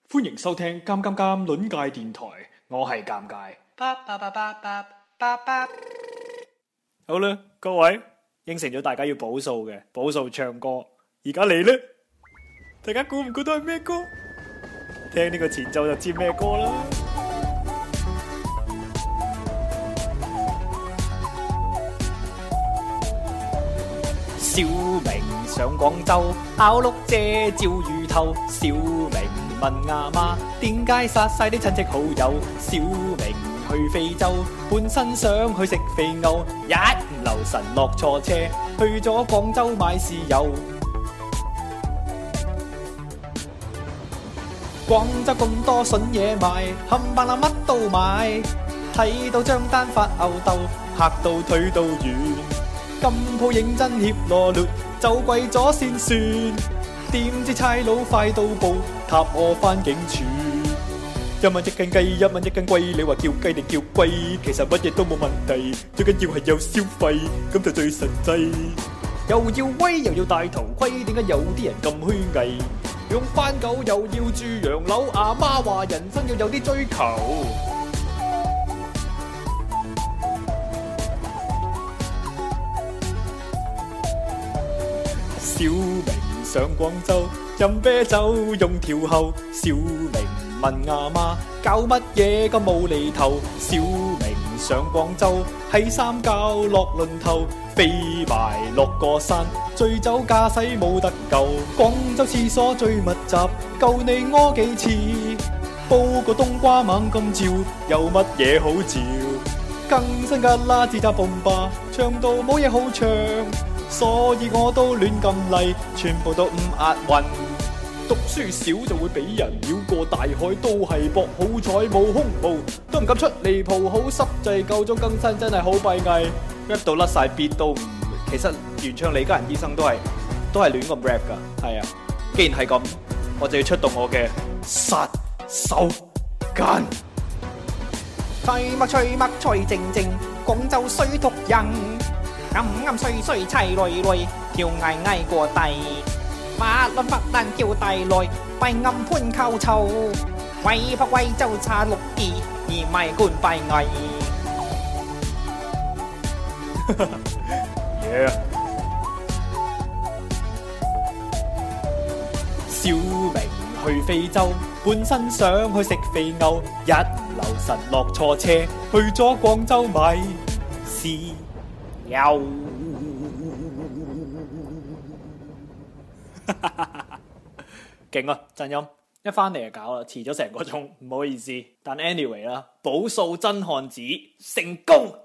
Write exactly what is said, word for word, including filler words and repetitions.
歡迎收聽《尷尷尷》論界電台，我係尷尬。好啦，各位應承咗大家要補數嘅，補數唱歌。而家嚟啦，大家估唔估到係咩歌？聽呢個前奏就知咩歌啦。小明上廣州，咬碌蔗照魚頭。小明問阿媽，點解殺晒啲親戚好友？小明去非洲，本身想去食肥牛，一唔留神落錯車，去咗廣州買豉油。廣州咁多筍嘢賣，冚唪唥乜都買，睇到張單發吽竇，嚇到腿都軟。金鋪認真協羅劣，就貴咗先算。點知差佬快到步，塔我返警署。一蚊一斤雞，一蚊一斤龜，你話叫雞定叫龜？其實乜嘢都冇問題，最緊要係有消費，咁就最實際。又要威又要戴頭盔，點解有啲人咁虛偽？用番狗又要住洋樓，阿媽話人生要有啲追求。小明上廣州，飲啤酒用條喉。小明問阿媽，搞乜嘢咁無厘頭？小明上廣州，喺三滘落輪頭，飛埋落個山，醉酒駕駛冇得救。廣州廁所最密集，夠你屙幾次？煲個冬瓜猛咁照，有乜嘢好照？更新噶啦，自責蹦吧，唱到冇嘢好唱。所以我都亂咁嚟，全部都唔押韻。讀書少就會俾人繞過大海，都係搏好彩冇胸毛，都唔敢出離譜，好濕滯，夠鐘更新真係好閉翳。rap 到甩晒 beat 都唔，其實原唱李家仁醫生都係都係亂咁 rap 噶，係啊。既然係咁，我就要出動我嘅殺手鐧。 吹乜吹乜吹靜靜，廣州水毒人。啱啱碎碎砌累累，跳嗌嗌過地，法律法蘭叫大來，閉暗潘扣臭，威北威州差六二，而咪官閉翳。 yeah. 小明去非洲，本身想去食肥牛，一唔留神落錯車，去咗廣州買豉油。勁啊！震音一翻嚟就搞啦，遲咗成個鐘，唔好意思。但 anyway 啦，補數真漢子成功。